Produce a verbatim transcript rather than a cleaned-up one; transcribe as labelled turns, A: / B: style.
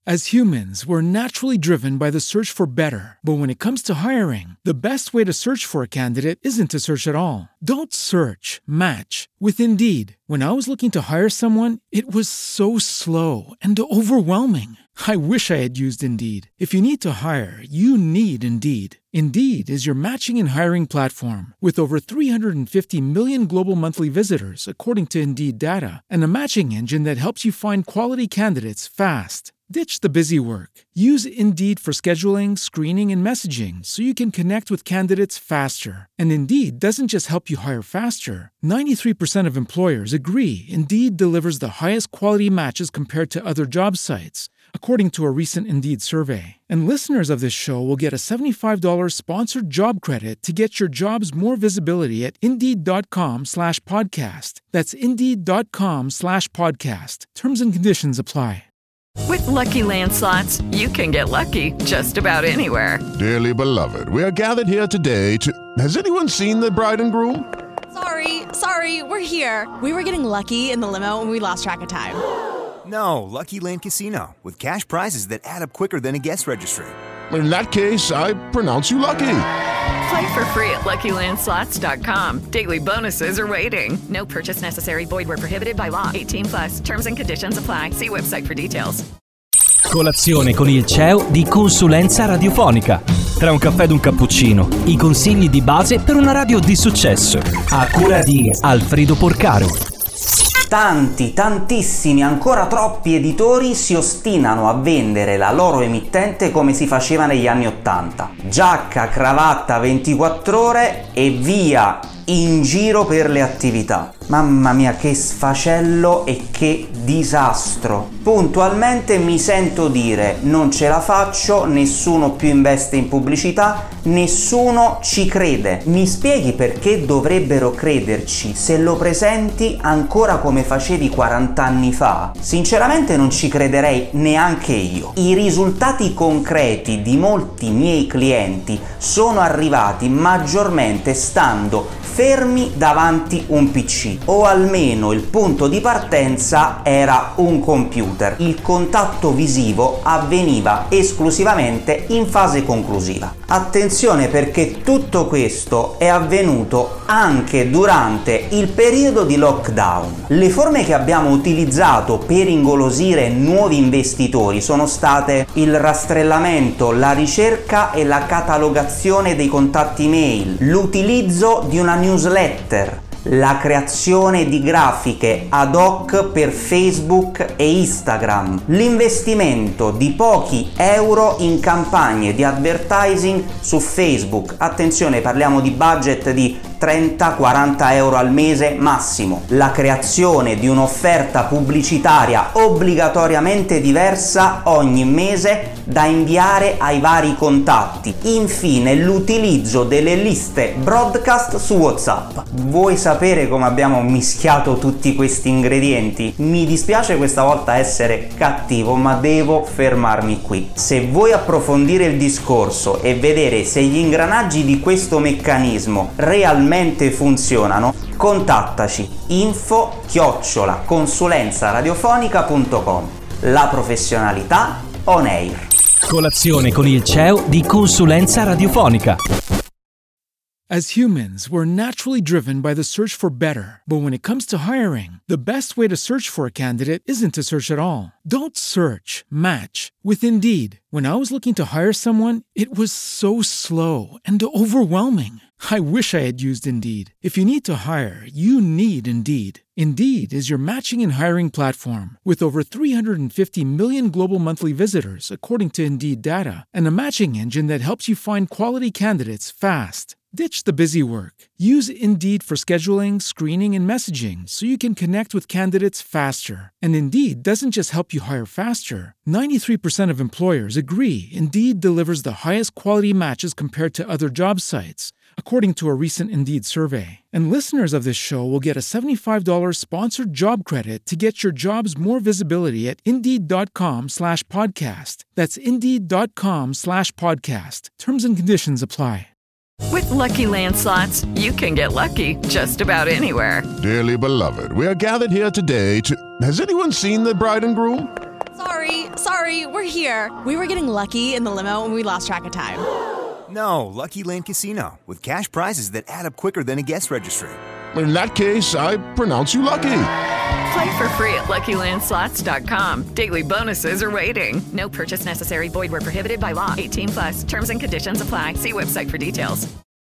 A: As humans, we're naturally driven by the search for better. But when it comes to hiring, the best way to search for a candidate isn't to search at all. Don't search, match with Indeed. When I was looking to hire someone, it was so slow and overwhelming. I wish I had used Indeed. If you need to hire, you need Indeed. Indeed is your matching and hiring platform with over three hundred fifty million global monthly visitors, according to Indeed data, and a matching engine that helps you find quality candidates fast. Ditch the busy work. Use Indeed for scheduling, screening, and messaging so you can connect with candidates faster. And Indeed doesn't just help you hire faster. ninety-three percent of employers agree Indeed delivers the highest quality matches compared to other job sites, according to a recent Indeed survey. And listeners of this show will get a seventy-five dollars sponsored job credit to get your jobs more visibility at Indeed.com slash podcast. That's Indeed.com slash podcast. Terms and conditions apply.
B: With Lucky Land Slots, you can get lucky just about anywhere.
C: Dearly beloved, we are gathered here today to... Has anyone seen the bride and groom?
D: Sorry, sorry, we're here. We were getting lucky in the limo and we lost track of time.
E: No, Lucky Land Casino, with cash prizes that add up quicker than a guest registry.
C: In that case, I pronounce you lucky.
B: Play for free at Lucky Land Slots dot com. Daily bonuses are waiting. No purchase necessary. Void where prohibited by law. eighteen plus. Terms and conditions apply. See website for details.
F: Colazione con il C E O di Consulenza Radiofonica. Tra un caffè ed un cappuccino, i consigli di base per una radio di successo. A cura di Alfredo Porcaro.
G: Tanti, tantissimi, ancora troppi editori si ostinano a vendere la loro emittente come si faceva negli anni ottanta. Giacca, cravatta, ventiquattro ore e via in giro per le attività. Mamma mia, che sfacello e che disastro. Puntualmente mi sento dire: non ce la faccio, nessuno più investe in pubblicità, nessuno ci crede. Mi spieghi perché dovrebbero crederci se lo presenti ancora come facevi quaranta anni fa? Sinceramente non ci crederei neanche io. I risultati concreti di molti miei clienti sono arrivati maggiormente stando fermi davanti un P C, o almeno il punto di partenza era un computer. Il contatto visivo avveniva esclusivamente in fase conclusiva. Attenzione, perché tutto questo è avvenuto anche durante il periodo di lockdown. Le forme che abbiamo utilizzato per ingolosire nuovi investitori sono state il rastrellamento, la ricerca e la catalogazione dei contatti mail, l'utilizzo di una newsletter, la creazione di grafiche ad hoc per Facebook e Instagram, l'investimento di pochi euro in campagne di advertising su Facebook. Attenzione, parliamo di budget di trenta quaranta euro al mese massimo, la creazione di un'offerta pubblicitaria obbligatoriamente diversa ogni mese da inviare ai vari contatti, infine l'utilizzo delle liste broadcast su WhatsApp. Vuoi sapere come abbiamo mischiato tutti questi ingredienti? Mi dispiace questa volta essere cattivo, ma devo fermarmi qui. Se vuoi approfondire il discorso e vedere se gli ingranaggi di questo meccanismo realmente funzionano, contattaci info chiocciola consulenza radiofonica punto com. La professionalità on air.
F: Colazione con il C E O di Consulenza Radiofonica.
A: As humans, we're naturally driven by the search for better. But when it comes to hiring, the best way to search for a candidate isn't to search at all. Don't search, match with Indeed. When I was looking to hire someone, it was so slow and overwhelming. I wish I had used Indeed. If you need to hire, you need Indeed. Indeed is your matching and hiring platform with over three hundred fifty million global monthly visitors, according to Indeed data, and a matching engine that helps you find quality candidates fast. Ditch the busy work. Use Indeed for scheduling, screening, and messaging so you can connect with candidates faster. And Indeed doesn't just help you hire faster. ninety-three percent of employers agree Indeed delivers the highest quality matches compared to other job sites, according to a recent Indeed survey. And listeners of this show will get a seventy-five dollars sponsored job credit to get your jobs more visibility at Indeed.com slash podcast. That's Indeed.com slash podcast. Terms and conditions apply.
B: With Lucky Land Slots, you can get lucky just about anywhere.
C: Dearly beloved, we are gathered here today to... Has anyone seen the bride and groom?
D: Sorry, sorry, we're here. We were getting lucky in the limo and we lost track of time.
E: No, Lucky Land Casino, with cash prizes that add up quicker than a guest registry.
C: In that case, I pronounce you lucky.
B: Play for free at Lucky Land Slots dot com. Daily bonuses are waiting. No purchase necessary. Void where prohibited by law. eighteen plus. Terms and conditions apply. See website for details.